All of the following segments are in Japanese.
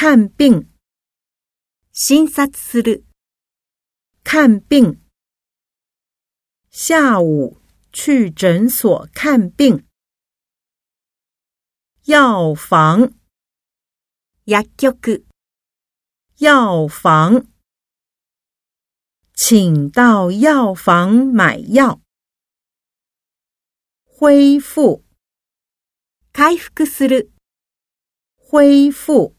看病。 診察する。 看病。下午去诊所看病。药房。 薬局。 药房。请到药房买药。恢复。 回復する。 恢复。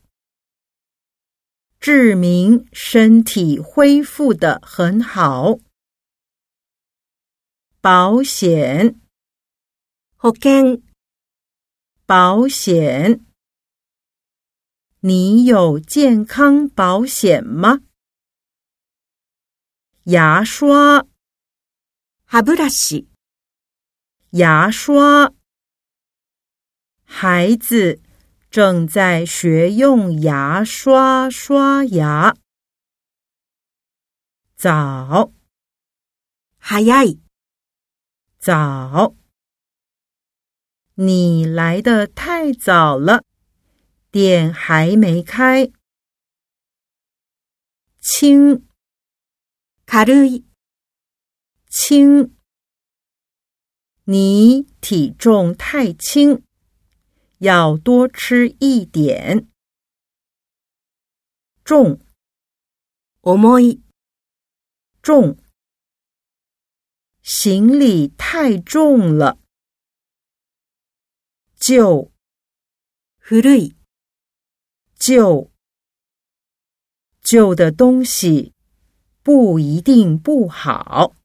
志明身体恢复得很好。保险。 保険。 保险。你有健康保险吗？牙刷。 歯ブラシ。 牙刷。孩子正在学用牙刷刷牙。早。 早い。 早。你来得太早了，店还没开。轻。 軽い。 轻。你体重太轻，要多吃一点。重。 重い。 重。行李太重了。旧。 古い。 旧。旧的东西不一定不好。